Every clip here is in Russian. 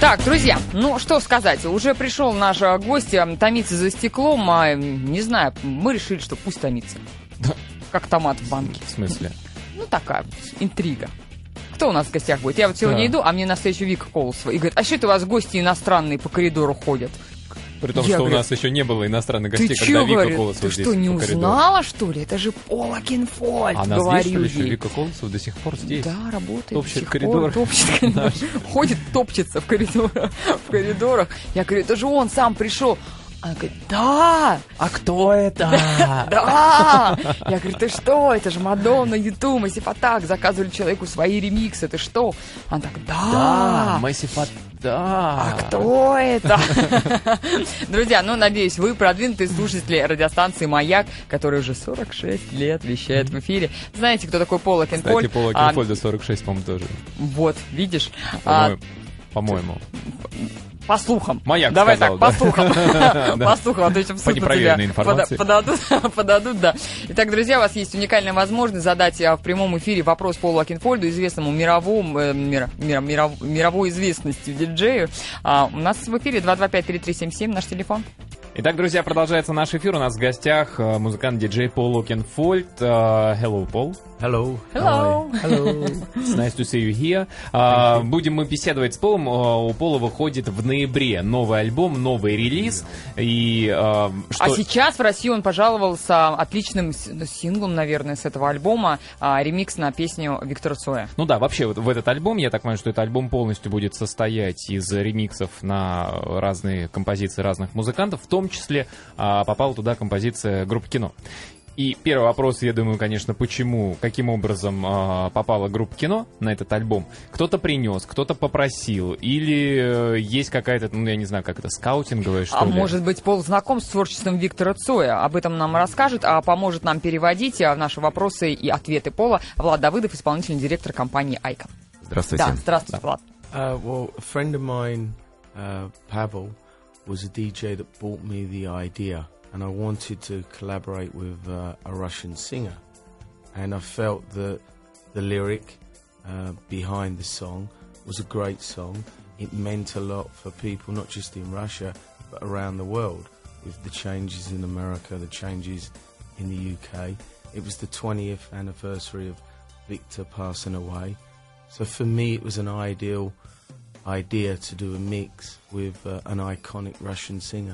Так, друзья, ну что сказать, уже пришел наш гость томиться за стеклом, не знаю, мы решили, что пусть томится. Как томат в банке. В смысле? Ну, такая интрига. Кто у нас в гостях будет? Я вот сегодня иду, а мне навстречу Вика Колосова. И говорит, а что это у вас гости иностранные по коридору ходят? При том, что у нас еще не было иностранных гостей, когда Вика Колосова здесь. Ты что, не узнала, что ли? Это же Пола Окенфольд, а говорю нас здесь, что ли, Вика Колосова до сих пор здесь? Да, работает. Топчет коридор. Ходит, топчется в коридорах. Я говорю, это же он сам пришел. Она говорит, да! А кто это? Да! Я говорю, ты что? Это же Мадонна, Юту, Массив Атак заказывали человеку свои ремиксы, ты что? Она так, да! Массив Атак. Да. А кто это? Друзья, ну, надеюсь, вы продвинутые слушатели радиостанции «Маяк», которая уже 46 лет вещает в эфире. Знаете, кто такой Пол Окенфольд? Кстати, Пол Окенфольда 46, по-моему, тоже. Вот, видишь? По-моему. По слухам. Маяк Давай сказал, так, да? по слухам. По слухам, а то еще в суд на тебя подадут, да. Итак, друзья, у вас есть уникальная возможность задать в прямом эфире вопрос Полу Окенфольду, известному мировой известностью диджею. У нас в эфире 225-3377, наш телефон. Итак, друзья, продолжается наш эфир. У нас в гостях музыкант-диджей Пол Окенфольд. Hello, Пол. Hello. Hello. Hello. It's nice to see you here. Будем мы беседовать с Полом. У Пола выходит в ноябре новый альбом, новый релиз. И, А сейчас в Россию он пожаловался отличным синглом, наверное, с этого альбома. Ремикс на песню Виктора Цоя. Ну да, вообще вот в этот альбом, я так понимаю, что этот альбом полностью будет состоять из ремиксов на разные композиции разных музыкантов. В том числе попала туда композиция группы «Кино». И первый вопрос, я думаю, конечно, почему, каким образом попала группа «Кино» на этот альбом. Кто-то принес, кто-то попросил, или есть какая-то, ну, я не знаю, как это, скаутинговая, что ли? А может быть, Пол знаком с творчеством Виктора Цоя? Об этом нам расскажет, а поможет нам переводить наши вопросы и ответы Пола Влад Давыдов, исполнительный директор компании «Айкон». Здравствуйте. Да, здравствуйте, Влад. Well, a friend of mine, Pavel, was a DJ that brought me the idea. And I wanted to collaborate with a Russian singer. And I felt that the lyric behind the song was a great song. It meant a lot for people, not just in Russia, but around the world, with the changes in America, the changes in the UK. It was the 20th anniversary of Victor passing away. So for me, it was an ideal idea to do a mix with an iconic Russian singer.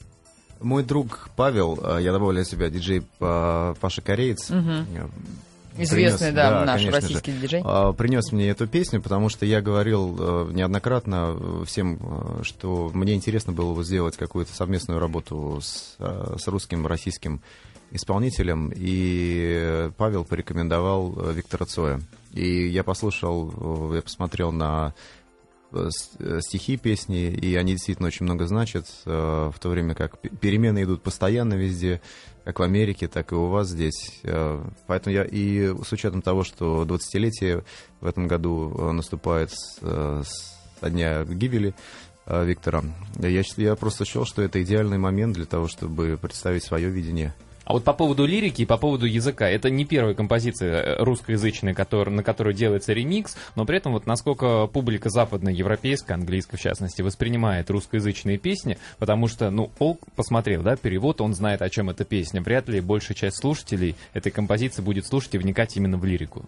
Мой друг Павел, я добавляю себя, диджей Паша Кореец. Известный, наш российский диджей. Принес мне эту песню, потому что я говорил неоднократно всем, что мне интересно было бы сделать какую-то совместную работу с русским, российским исполнителем, и Павел порекомендовал Виктора Цоя. И я послушал, я посмотрел на стихи песни, и они действительно очень много значат, в то время как перемены идут постоянно везде, как в Америке, так и у вас здесь. Поэтому я, и с учетом того, что 20-летие в этом году наступает со дня гибели Виктора, я просто считал, что это идеальный момент для того, чтобы представить свое видение. А вот по поводу лирики и по поводу языка, это не первая композиция русскоязычная, на которую делается ремикс, но при этом вот насколько публика западноевропейская, английская в частности, воспринимает русскоязычные песни, потому что, ну, Пол посмотрел, да, перевод, он знает, о чем эта песня, вряд ли большая часть слушателей этой композиции будет слушать и вникать именно в лирику.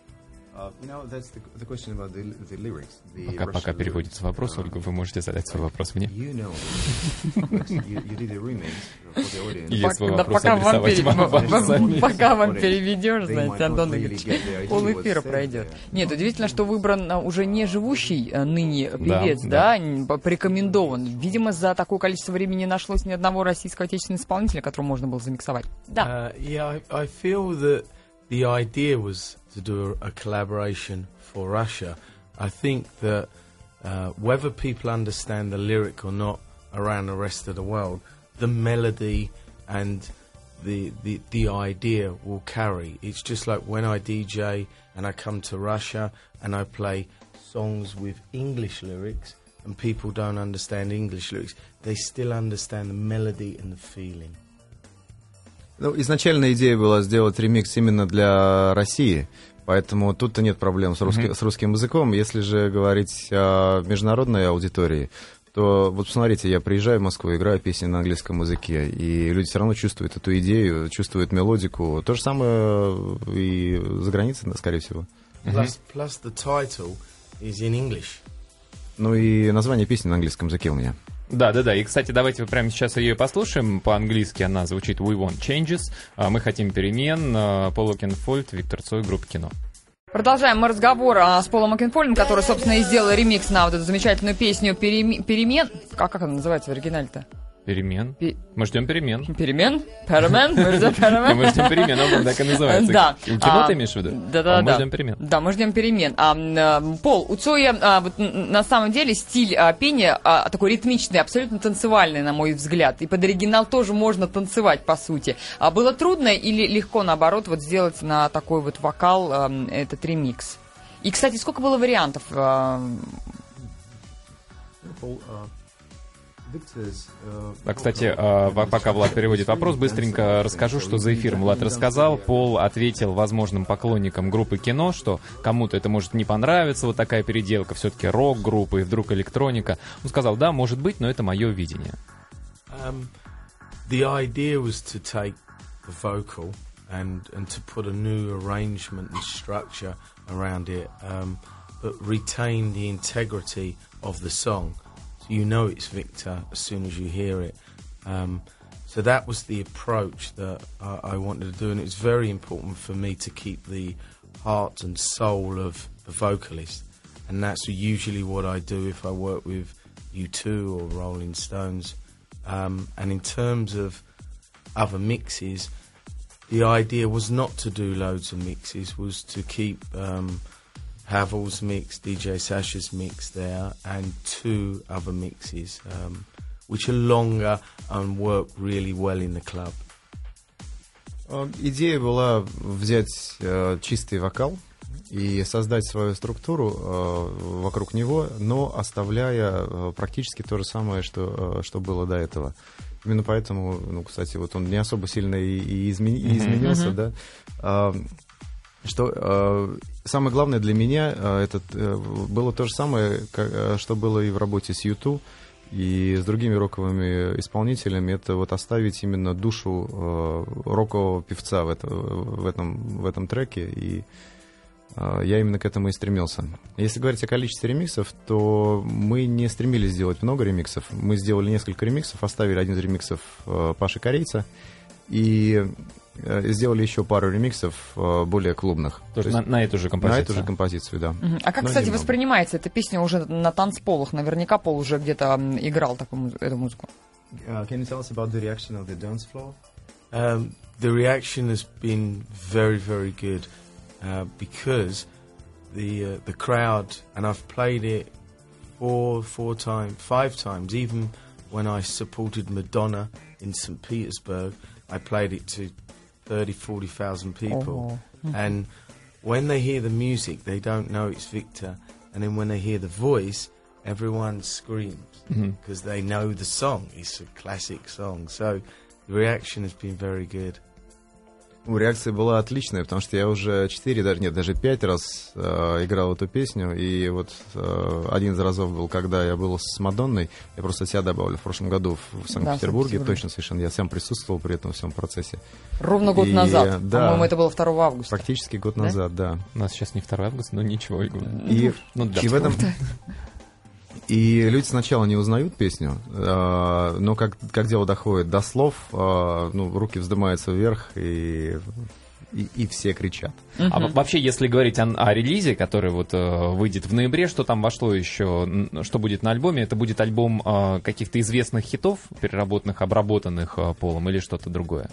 Пока переводится вопрос, Ольга, вы можете задать свой вопрос мне. Пока вам переведешь, знаете, Антон Игоревич, полэфира пройдет. Нет, удивительно, что выбран уже не живущий ныне певец, да, порекомендован. Видимо, за такое количество времени не нашлось ни одного российского отечественного исполнителя, которого можно было замиксовать. Да. I feel that the idea was to do a collaboration for Russia. I think that whether people understand the lyric or not around the rest of the world, the melody and the idea will carry. It's just like when I DJ and I come to Russia and I play songs with English lyrics and people don't understand English lyrics, they still understand the melody and the feeling. Ну, изначально идея была сделать ремикс именно для России, Поэтому тут-то нет проблем с русским языком. Если же говорить о международной аудитории, то вот посмотрите, я приезжаю в Москву, играю песни на английском языке, и люди все равно чувствуют эту идею, чувствуют мелодику. То же самое и за границей, скорее всего. Plus the title is in English. Ну и название песни на английском языке у меня. Да. И, кстати, давайте прямо сейчас ее послушаем. По-английски она звучит «We want changes». Мы хотим перемен. Пол Окенфольд, Виктор Цой, группа «Кино». Продолжаем мы разговор с Полом Окенфольдом, который, собственно, и сделал ремикс на вот эту замечательную песню «Перемен». Как она называется в оригинале-то? Перемен. Мы ждем перемен. Перемен? Перемен? Мы ждем перемен. Мы ждем перемен, он так и называется. Да. Кино ты имеешь в виду? Да. Мы ждем перемен. Да, мы ждем перемен. Пол, у Цоя на самом деле стиль пения такой ритмичный, абсолютно танцевальный, на мой взгляд. И под оригинал тоже можно танцевать, по сути. Было трудно или легко, наоборот, вот сделать на такой вот вокал этот ремикс? И, кстати, сколько было вариантов? Кстати, пока Влад переводит вопрос, быстренько расскажу, что за эфиром Влад рассказал. Пол ответил возможным поклонникам группы «Кино», что кому-то это может не понравиться, вот такая переделка, все-таки рок-группа и вдруг электроника. Он сказал, да, может быть, но это мое видение. The idea was to take the vocal and to put a new arrangement and structure around it, but retain the integrity of the song. You know it's Victor as soon as you hear it. So that was the approach that I wanted to do, and it was very important for me to keep the heart and soul of the vocalist. And that's usually what I do if I work with U2 or Rolling Stones. And in terms of other mixes, the idea was not to do loads of mixes, was to keep Havel's mix, DJ Sasha's mix there, and 2 other mixes, which are longer and work really well in the club. Идея была взять чистый вокал и создать свою структуру вокруг него, но оставляя практически то же самое, что было до этого. Именно поэтому, ну, кстати, вот он не особо сильно и изменился, да. Что самое главное для меня было то же самое, что было и в работе с U2 и с другими роковыми исполнителями. Это вот оставить именно душу рокового певца в этом треке. И я именно к этому и стремился. Если говорить о количестве ремиксов, то мы не стремились сделать много ремиксов. Мы сделали несколько ремиксов, оставили один из ремиксов Паши Корейца и сделали еще пару ремиксов более клубных. Тоже на эту же композицию? На эту же композицию, да. А как, кстати, воспринимается эта песня уже на танцполах? Наверняка Пол уже где-то играл эту музыку. Can you tell us about the reaction of the dance floor? The reaction has been very, very good because the crowd, and I've played it 5 times, even when I supported Madonna in St. Petersburg, I played it to 30,000-40,000 people. And when they hear the music, they don't know it's Victor. And then when they hear the voice, everyone screams because they know the song. It's a classic song. So the reaction has been very good. Реакция была отличная, потому что я уже 5 раз играл эту песню, и вот один из разов был, когда я был с Мадонной, я просто себя добавлю, в прошлом году в Санкт-Петербурге, точно совершенно, я сам присутствовал при этом всем процессе. Ровно год назад, да, по-моему, это было 2 августа. Практически год назад, да. У нас сейчас не 2 августа, но ничего. И в этом... И люди сначала не узнают песню, но как дело доходит до слов, руки вздымаются вверх, и все кричат. А вообще, если говорить о релизе, который вот выйдет в ноябре, что там вошло еще, что будет на альбоме? Это будет альбом каких-то известных хитов, переработанных, обработанных Полом, или что-то другое?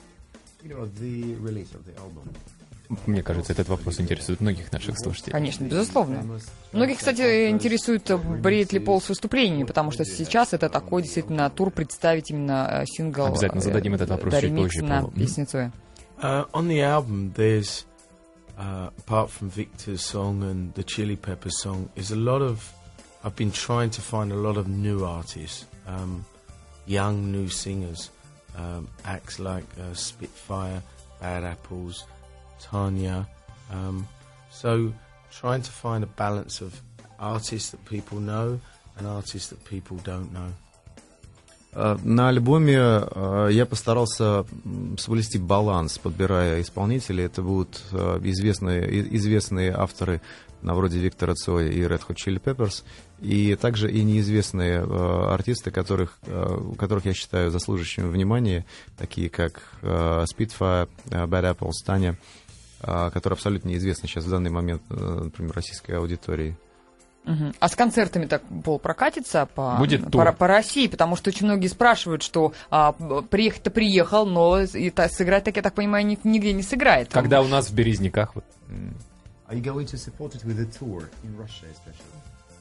Мне кажется, этот вопрос интересует многих наших слушателей. Конечно, безусловно. Многих, кстати, интересует, бреет ли Пол с выступлениями, потому что сейчас это такой действительно тур представить именно сингл. Обязательно зададим этот вопрос чуть позже. На песню Цоя. On the album, there's, apart from Victor's song and the Chili Peppers song, is a lot of, I've been trying to find a lot of new artists, young new singers, acts like Spitfire, Bad Apples, Tanya. So trying to find a balance of artists that people know and artists that people don't know. На альбоме я постарался соблюсти баланс, подбирая исполнителей. Это будут известные авторы, вроде Виктора Цоя и Red Hot Chili Peppers, и также и неизвестные артисты, которых я считаю заслуживающими внимания, такие как Spitfire, Bad Apples, Таня, которые абсолютно неизвестны сейчас в данный момент, например, российской аудитории. А с концертами так, Пол, прокатится по России? Потому что очень многие спрашивают, что приехать-то приехал, но сыграть, так я так понимаю, нигде не сыграет. Когда у нас в Березниках. Are you going to support it with a tour in Russia, especially?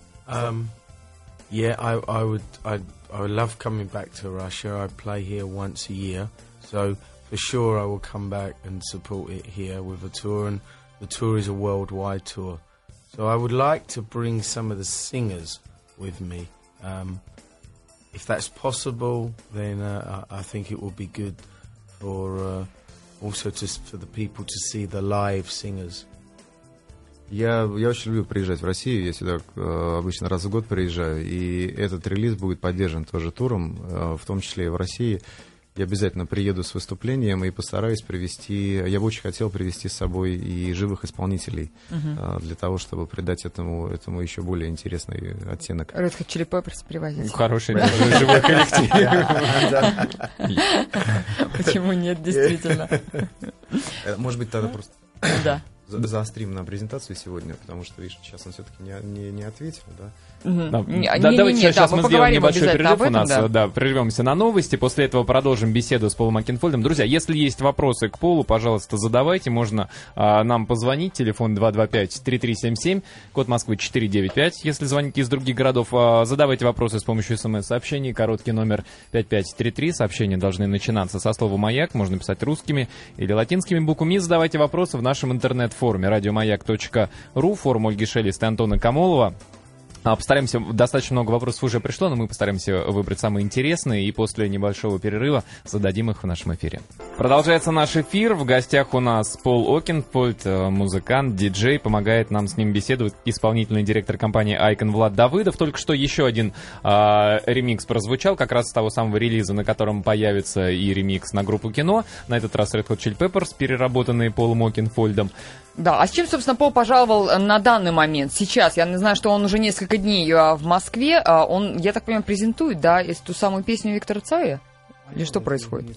Yeah, I would love coming back to Russia. I play here once a year, so for sure I will come back and support it here with a tour. And the tour is a worldwide tour, so I would like to bring some of the singers with me. If that's possible, then I think it will be good for also for the people to see the live singers. Я очень люблю приезжать в Россию, я сюда обычно раз в год приезжаю, и этот релиз будет поддержан тоже туром, в том числе и в России. Я обязательно приеду с выступлением и постараюсь привести, я бы очень хотел привести с собой и живых исполнителей, для того, чтобы придать этому еще более интересный оттенок. Red Hot Chili Peppers привозить. Хороший живой коллектив. Почему нет, действительно? Может быть, тогда просто... Да. Заострим на презентацию сегодня, потому что, видишь, сейчас он все-таки не ответил, да? Давайте сейчас мы сделаем небольшой перерыв у нас, прервемся на новости, после этого продолжим беседу с Полом Окенфольдом. Друзья, если есть вопросы к Полу, пожалуйста, задавайте, можно нам позвонить, телефон 225-3377, код Москвы 495, если звоните из других городов, задавайте вопросы с помощью смс-сообщений, короткий номер 5533, сообщения должны начинаться со слова «Маяк», можно писать русскими или латинскими буквами, задавайте вопросы в нашем интернет-форуме радиомаяк.ру, форум Ольги Шелест и Антона Камолова. Постараемся, достаточно много вопросов уже пришло, но мы постараемся выбрать самые интересные и после небольшого перерыва зададим их в нашем эфире. Продолжается наш эфир. В гостях у нас Пол Окенфольд, музыкант, диджей. Помогает нам с ним беседовать исполнительный директор компании Icon Влад Давыдов. Только что еще один ремикс прозвучал, как раз с того самого релиза, на котором появится и ремикс на группу «Кино». На этот раз Red Hot Chili Peppers, переработанные Полом Окенфольдом. Да, а с чем, собственно, Пол пожаловал на данный момент? Сейчас, я знаю, что он уже несколько дней в Москве, он, я так понимаю, презентует, да, ту самую песню Виктора Цоя? Или что происходит?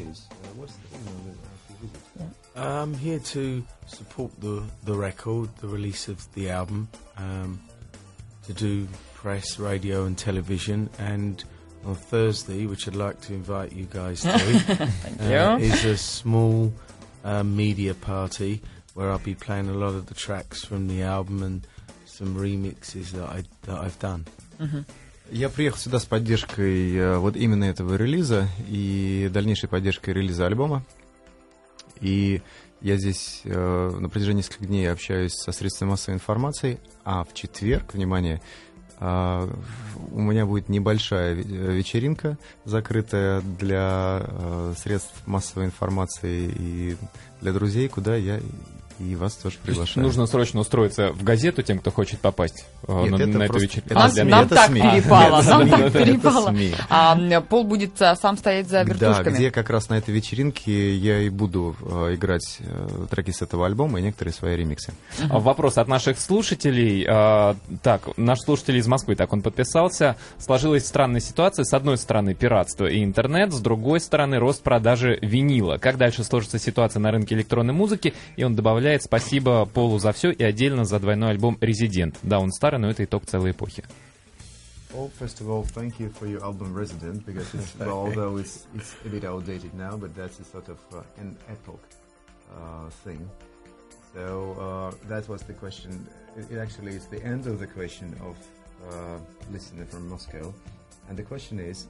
I'm here to support the record, the release of the album, to do press, radio and television, and on Thursday, which I'd like to invite you guys to, is a small media party where I'll be playing a lot of the tracks from the album and some remixes that I've done. Я приехал сюда с поддержкой вот именно этого релиза и дальнейшей поддержкой релиза альбома. И я здесь на протяжении нескольких дней общаюсь со средствами массовой информации, а в четверг, внимание, у меня будет небольшая вечеринка, закрытая для средств массовой информации и для друзей, куда я и вас тоже приглашаю. Нужно срочно устроиться в газету тем, кто хочет попасть на эту вечеринку. Нам так перепало. Пол будет сам стоять за вертушками. Да, где как раз на этой вечеринке я и буду играть треки с этого альбома и некоторые свои ремиксы. Вопрос от наших слушателей. Так, наш слушатель из Москвы, так он подписался. Сложилась странная ситуация. С одной стороны, пиратство и интернет, с другой стороны, рост продажи винила. Как дальше сложится ситуация на рынке электронной музыки? И он добавляет: спасибо Полу за все и отдельно за двойной альбом «Резидент». Да, он старый, но это итог целой эпохи. Well, first of all, thank you for your album Resident, because it's, well, although it's a bit outdated now, but that's a sort of an epoch thing. So that was the question. It actually is the end of the question of listener from Moscow, and the question is.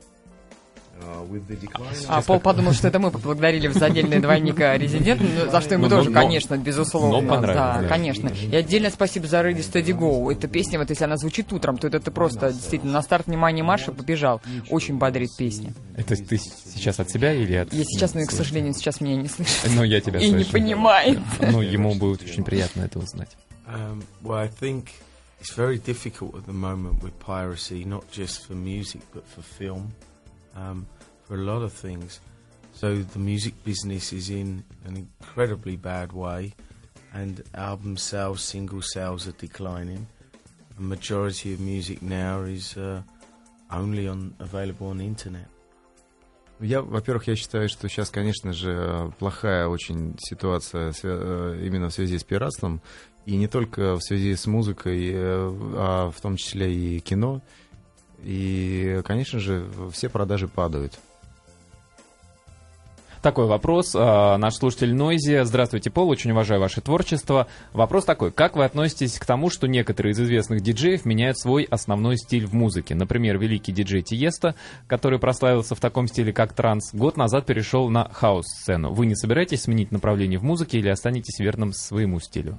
Пол подумал, что это мы поблагодарили за отдельный двойник «Резидент», за что ему тоже, конечно, безусловно. Но понравилось. Да, конечно. И отдельное спасибо за «Ready, Steady, Go». Эта песня, вот если она звучит утром, то это ты просто действительно на старт внимания марша побежал. Очень бодрит песня. Это ты сейчас от себя или от... Я сейчас, но, к сожалению, сейчас меня не слышит. Ну, я тебя слышу. И не понимает. Ну, ему будет очень приятно это узнать. Well, I think it's very difficult at the moment with piracy, not just for music, but for film, for a lot of things. So the music business is in an incredibly bad way, and album sales, single sales are declining. The majority of music now is only available on internet. Во-первых, я считаю, что сейчас, конечно же, плохая очень ситуация именно в связи с пиратством, и не только в связи с музыкой, а в том числе и кино. И, конечно же, все продажи падают. Такой вопрос. Наш слушатель Нойзи. Здравствуйте, Пол, очень уважаю ваше творчество. Вопрос такой. Как вы относитесь к тому, что некоторые из известных диджеев меняют свой основной стиль в музыке? Например, великий диджей Тиесто, который прославился в таком стиле, как транс, год назад перешел на хаус-сцену. Вы не собираетесь сменить направление в музыке или останетесь верным своему стилю?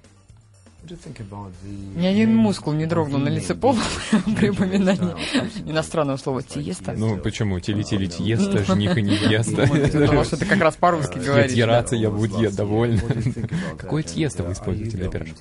Ни один мускул не дрогнул на лице Пола при упоминании иностранного слова «тиесто». Ну, почему? Тили-тили тиесто, жних и невеста. Потому что ты как раз по-русски говоришь. Тираться я буду доволен. Какое тиесто вы используете для пирожков?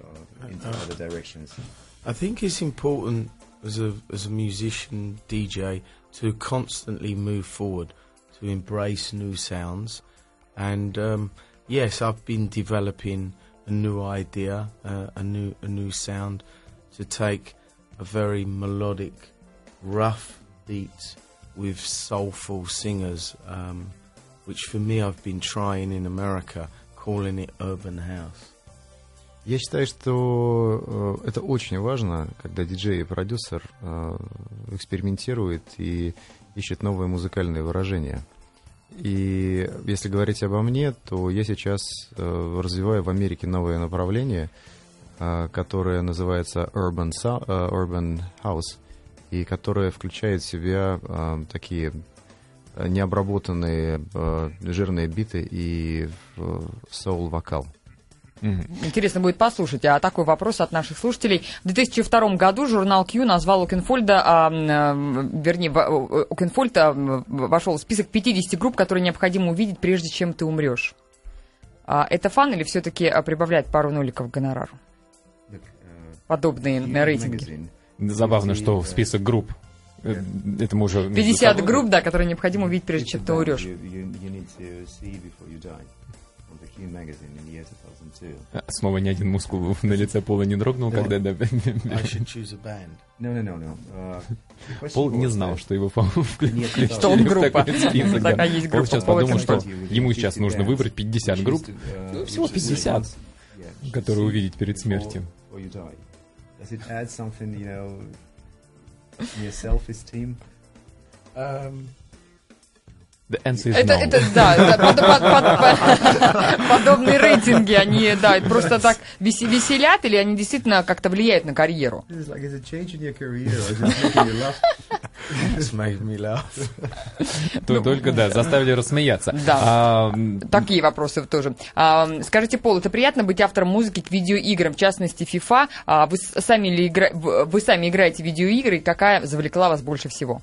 I think it's important as a musician, DJ, to constantly move forward, to embrace new sounds. And yes, I've been developing a new idea, a new sound, to take a very melodic, rough beat with soulful singers, which for me I've been trying in America, calling it urban house. Я считаю, что это очень важно, когда диджей и продюсер экспериментирует и ищет новые музыкальные выражения. И если говорить обо мне, то я сейчас развиваю в Америке новое направление, которое называется Urban House, и которое включает в себя такие необработанные жирные биты и соул-вокал. Интересно будет послушать. А такой вопрос от наших слушателей. В 2002 году журнал Q назвал Окенфольда, Окенфольд вошел в список 50 групп, которые необходимо увидеть, прежде чем ты умрешь. Это фан или все-таки прибавляет пару ноликов к гонорару? Подобные рейтинги. Забавно, что в список групп. Это мы уже 50 групп, да, которые необходимо увидеть, прежде чем ты умрешь. Снова ни один мускул на лице Пола не дрогнул, когда... Пол не знал, что его включили что он группа. Пол сейчас подумал, что ему сейчас нужно выбрать 50 групп, всего 50, которые увидеть перед смертью. The answer is no. Подобные рейтинги, они, да, просто так веселят, или они действительно как-то влияют на карьеру? Только, да, заставили рассмеяться. Да, такие вопросы тоже. Скажите, Пол, это приятно быть автором музыки к видеоиграм, в частности, FIFA. Вы сами играете в видеоигры, и какая завлекла вас больше всего?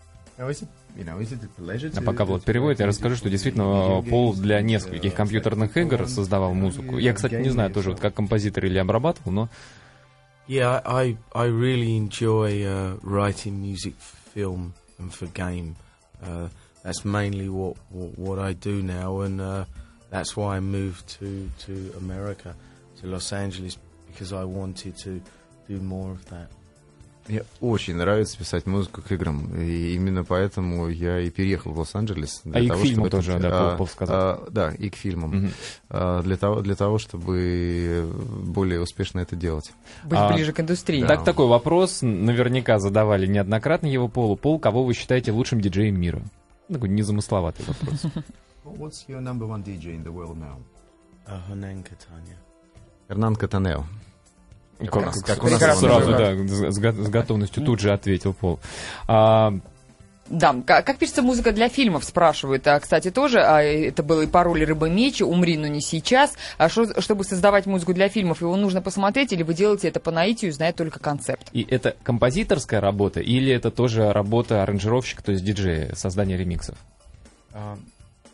А пока Влад переводит, я расскажу, что действительно Пол для нескольких компьютерных игр создавал музыку. Я, кстати, не знаю тоже, вот как композитор или обрабатывал, но... Yeah, I really enjoy writing music for film and for game. That's mainly what I do now, and that's why I moved to America, to Los Angeles, because I wanted to do more of that. Мне очень нравится писать музыку к играм, и именно поэтому я и переехал в Лос-Анджелес. И к фильму тоже, да, Пол сказал. Да, и к фильмам. Для того, чтобы более успешно это делать. Быть ближе к индустрии. Так, такой вопрос, наверняка задавали неоднократно его Полу. Пол, кого вы считаете лучшим диджеем мира? Такой незамысловатый вопрос. What's your number one DJ in the world now? Hernan Cattaneo. Hernan Cattaneo. Как у нас сразу, да, с готовностью тут же ответил Пол. Да, как пишется музыка для фильмов, спрашивают. Кстати, тоже, это было и по роли «Рыба-меч», «Умри, но не сейчас». Чтобы создавать музыку для фильмов, его нужно посмотреть, или вы делаете это по наитию, зная только концепт? И это композиторская работа, или это тоже работа аранжировщика, то есть диджея, создание ремиксов?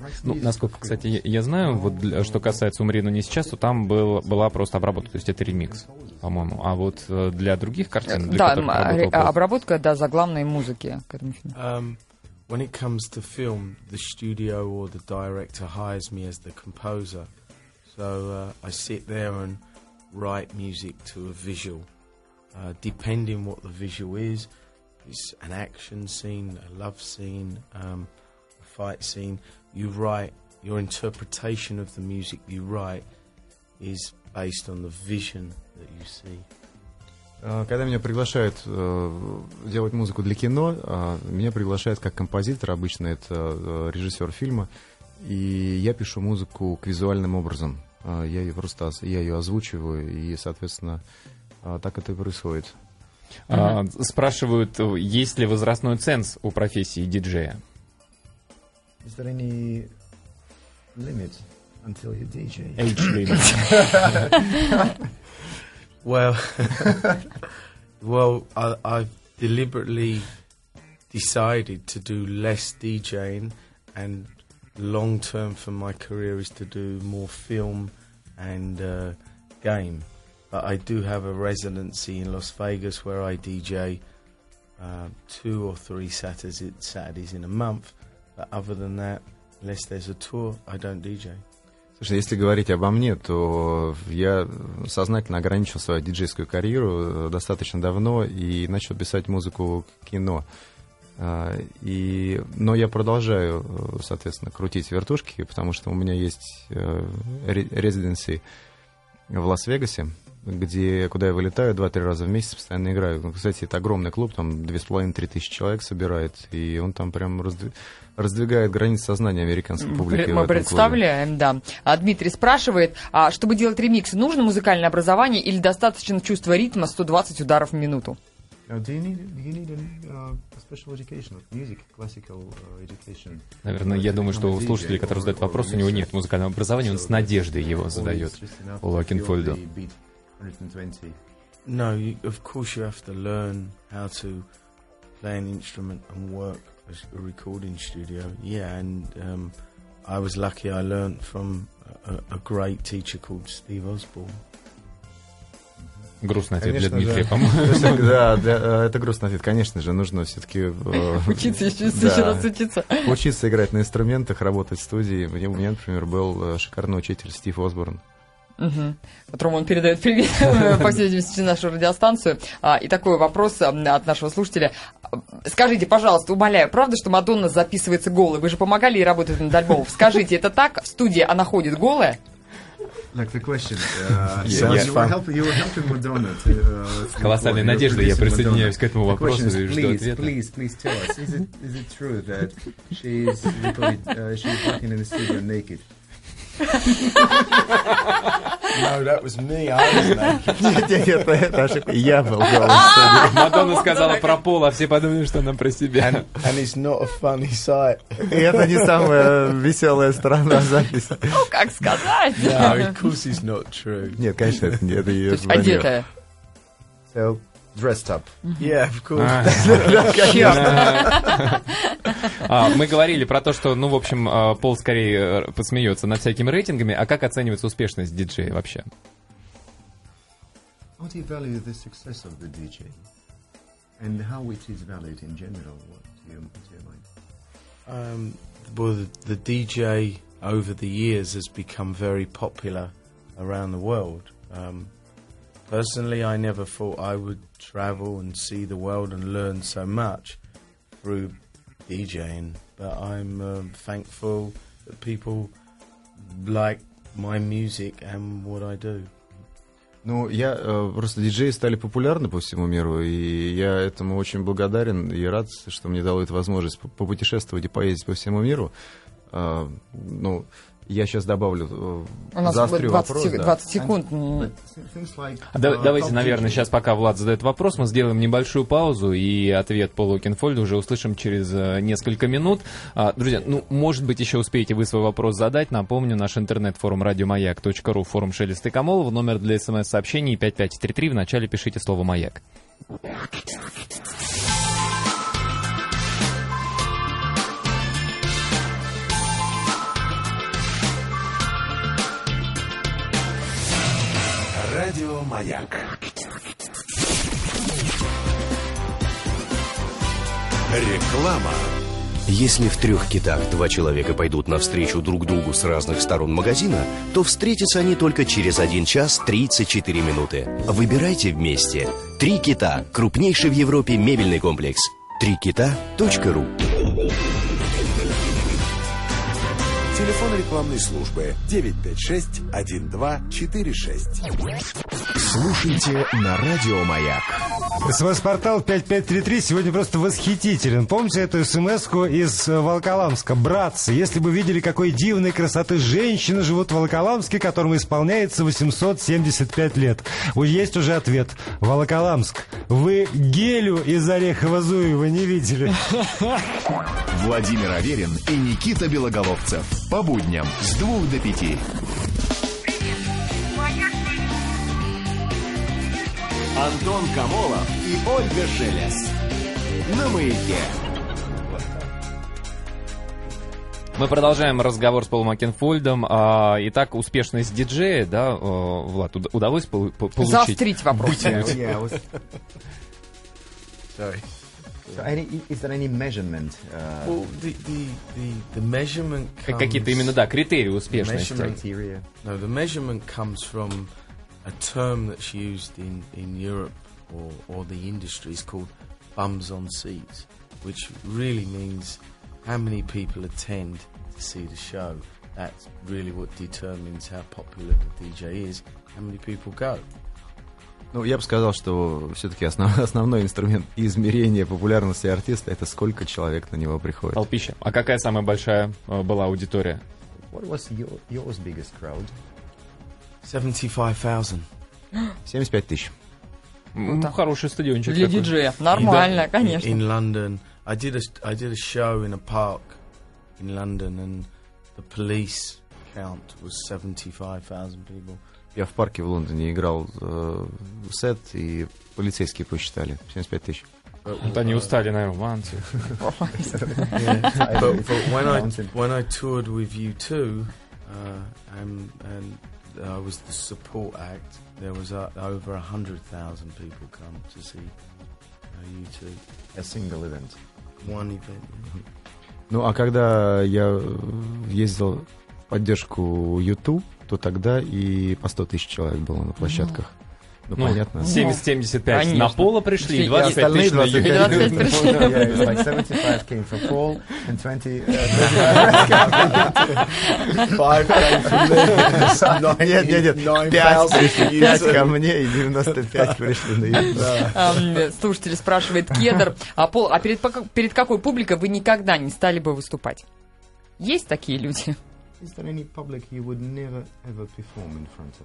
Ну, насколько, кстати, я знаю, вот что касается «Умри, но не сейчас», то там была просто обработка, то есть это ремикс, по-моему. А вот для других картин, для которых работал обработка, да, заглавной музыки к этому фильму. When it comes to film, the studio or the director hires me as the composer. So I sit there and write music to a visual. Depending what the visual is, it's an action scene, a love scene, a fight scene. You write, your interpretation of the music you write is based on the vision that you see. Когда меня приглашают делать музыку для кино, меня приглашают как композитор, обычно это режиссер фильма, и я пишу музыку к визуальным образом. Я ее озвучиваю, и, соответственно, так это и происходит. Спрашивают, есть ли возрастной ценз у профессии диджея? Is there any limit until you DJ? Age limit. Well, I've deliberately decided to do less DJing, and long term for my career is to do more film and game. But I do have a residency in Las Vegas where I DJ 2 or 3 Saturdays in a month. But other than that, unless there's a tour, I don't DJ. Слушай, если говорить обо мне, то я сознательно ограничил свою диджейскую карьеру достаточно давно и начал писать музыку к кино. Но я продолжаю, соответственно, крутить вертушки, потому что у меня есть резиденси в Лас-Вегасе, куда я вылетаю 2-3 раза в месяц, постоянно играю. Кстати, это огромный клуб, там 2500-3000 человек собирает, и он там прям раздвигает границы сознания американской публики. Мы представляем, да. Дмитрий спрашивает, чтобы делать ремиксы, нужно музыкальное образование или достаточно чувства ритма 120 ударов в минуту? Наверное, я думаю, что у слушателей, которые задают вопрос, у него нет музыкального образования, он с надеждой его задает у Локинфольда. No, of course you have to learn how to play an instrument and work as a recording studio. Yeah, and I was lucky I learned from a great teacher called Steve Osborne. Грустный ответ для Дмитрия, по-моему. Да, это грустный ответ. Конечно же, нужно все-таки... Учиться, еще раз учиться. Учиться играть на инструментах, работать в студии. У меня, например, был шикарный учитель Стив Осборн. Которому он передает привет, по всей видимости, нашу радиостанцию. И такой вопрос от нашего слушателя. Скажите, пожалуйста, умоляю, правда, что Мадонна записывается голой? Вы же помогали ей работать над альбомом. Скажите, это так? В студии она ходит голая? Like the question, С колоссальной надеждой я присоединяюсь к этому вопросу и жду ответа. Please tell us, is it true that she's working in the studio naked? No, that was me. I was naked. Нет, это ошибка. Я был голый. Мадонна сказала про пол, а все подумали, что она про себя. And it's not a funny sight. И это не самая веселая сторона записи. Ну, как сказать? No, of course it's not true. Нет, конечно, это ее. То есть одетая. So, dressed up. Yeah, of course. Мы говорили про то, что, в общем, Пол скорее посмеется над всякими рейтингами. А как оценивается успешность диджея вообще? How do you value the success of the DJ? And how it is valued in general? What do you mind? Well, the DJ over the years has become very popular around the world. Personally, I never thought I would travel and see the world and learn so much through DJing, but I'm thankful that people like my music and what I do. Просто диджеи стали популярны по всему миру, и я этому очень благодарен и рад, что мне дало эту возможность попутешествовать и поездить по всему миру. Я сейчас добавлю, заострю вопрос. 20 секунд. Давайте, наверное, сейчас, пока Влад задает вопрос, мы сделаем небольшую паузу, и ответ Пола Окенфольда уже услышим через несколько минут. Друзья, может быть, еще успеете вы свой вопрос задать. Напомню, наш интернет-форум радиомаяк.ру, форум Шелеста и Камолова, номер для смс-сообщений 5533, в начале пишите слово «Маяк». Маяк. Реклама. Если в 3 китах 2 человека пойдут навстречу друг другу с разных сторон магазина, то встретятся они только через 1 час 34 минуты. Выбирайте вместе. 3 кита. Крупнейший в Европе мебельный комплекс. 3kita.ru. Телефон рекламной службы 956-1246. Слушайте на Радио Маяк. СМС-портал 5533 сегодня просто восхитителен. Помните эту смс-ку из Волоколамска? Братцы, если бы видели, какой дивной красоты женщины живут в Волоколамске, которому исполняется 875 лет. Есть уже ответ. Волоколамск, вы Гелю из Орехово-Зуева не видели? Владимир Аверин и Никита Белоголовцев. По будням с 2 до 5. Антон Камолов и Ольга Шелес. На Маяке. Мы продолжаем разговор с Полом Окенфольдом. Итак, успешность диджея, да, Влад, удалось получить? Заострить вопрос. Sorry. So is there any measurement? Well, the measurement comes... Какие-то именно, да, критерии успешности. No, the measurement comes from a term that's used in Europe or the industry is called bums on seats, which really means how many people attend to see the show. That's really what determines how popular the DJ is, how many people go. Ну, я бы сказал, что все-таки основной инструмент измерения популярности артиста — это сколько человек на него приходит. Толпища. А какая самая большая была аудитория? What was yours biggest crowd? 75,000. 75 тысяч. Хороший стадиончик. Для диджея. Нормально, конечно. In London, I did a show in a park in London, and the police count was 75,000 people. Я в парке в Лондоне играл сет, и полицейские посчитали 75 тысяч. Вот они устали, наверное, When I toured with U2, and I was the support act, there was over 100,000 people come to see U2. A single event. One event. Ну, а когда я ездил в поддержку U2, то тогда и по 100 тысяч человек было на площадках. Ну, понятно. 70-75 на Поло пришли, 25 тысяч на Юрия. 75 came from Paul, and 20... 5 came from me. Нет, 5 ко мне и 95 пришли на YouTube. Слушатель спрашивает, Кедр, а перед какой публикой вы никогда не стали бы выступать? Есть такие люди? Is there any public you would never ever perform in front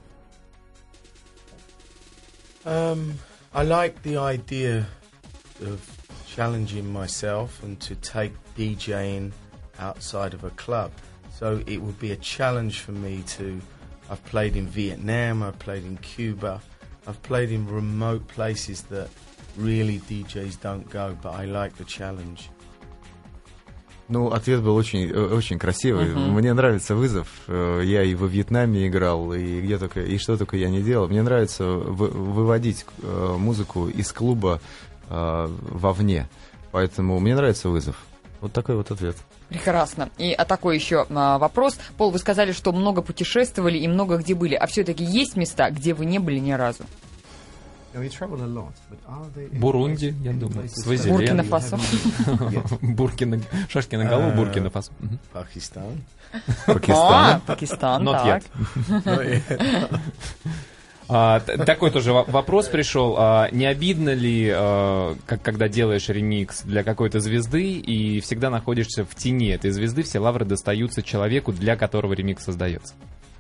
of? I like the idea of challenging myself and to take DJing outside of a club. So it would be a challenge for me to... I've played in Vietnam, I've played in Cuba, I've played in remote places that really DJs don't go, but I like the challenge. Ну, ответ был очень красивый. Мне нравится вызов. Я и во Вьетнаме играл, и где только, и что только я не делал. Мне нравится выводить музыку из клуба вовне. Поэтому мне нравится вызов. Вот такой вот ответ. Прекрасно. И такой еще вопрос. Пол, вы сказали, что много путешествовали и много где были. А все-таки есть места, где вы не были ни разу? Бурунди, я думаю. Буркина-Фасо. Шашки на голову, Буркина-Фасо. Пакистан. Пакистан, так. Такой тоже вопрос пришел. Не обидно ли, когда делаешь ремикс для какой-то звезды и всегда находишься в тени этой звезды, все лавры достаются человеку, для которого ремикс создается?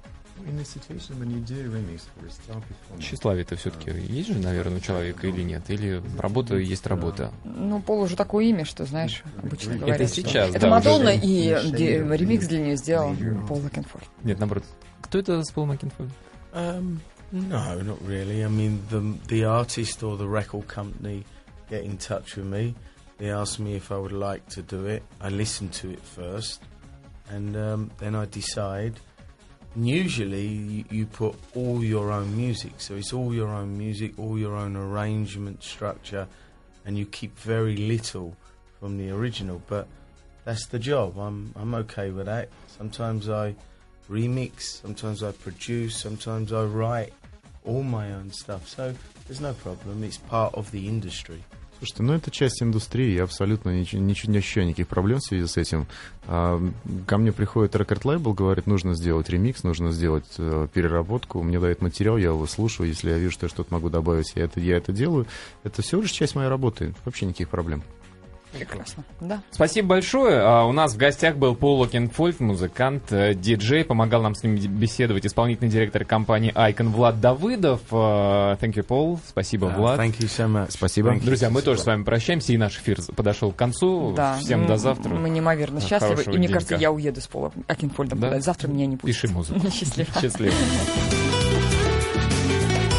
Тщеславие-то все-таки есть же, наверное, у человека или нет? Или работа есть работа? Ну, Пол уже такое имя, что, знаешь, обычно говорят. Это сейчас, это Мадонна, и ремикс для нее сделал Пол Окенфольд. Нет, наоборот. Кто это с Полом Окенфольдом? No, not really. I mean, the artist or the record company get in touch with me. They ask me if I would like to do it. I listen to it first, and then I decide. And usually you put all your own music, so it's all your own music, all your own arrangement structure, and you keep very little from the original. But that's the job. I'm okay with that. Sometimes I remix, sometimes I produce, sometimes I write all my own stuff. So there's no problem. It's part of the industry. Слушайте, ну это часть индустрии, я абсолютно не ощущаю никаких проблем в связи с этим. Ко мне приходит рекорд-лейбл, говорит, нужно сделать ремикс, нужно сделать переработку, мне дают материал, я его слушаю, если я вижу, что я что-то могу добавить, я это делаю. Это всего лишь часть моей работы, вообще никаких проблем. Прекрасно, да. Спасибо большое. У нас в гостях был Пол Окенфольд, музыкант, диджей. Помогал нам с ним беседовать исполнительный директор компании Icon Влад Давыдов. Thank you, Пол. Спасибо, Влад. Thank you so much. Спасибо. Друзья, мы тоже с вами прощаемся, и наш эфир подошел к концу. Да. Всем до завтра. Мы неимоверно счастливы. И мне кажется, я уеду с Полом Окенфольдом. Да? Завтра меня не пустят. Пиши музыку. Счастливо. Счастливо.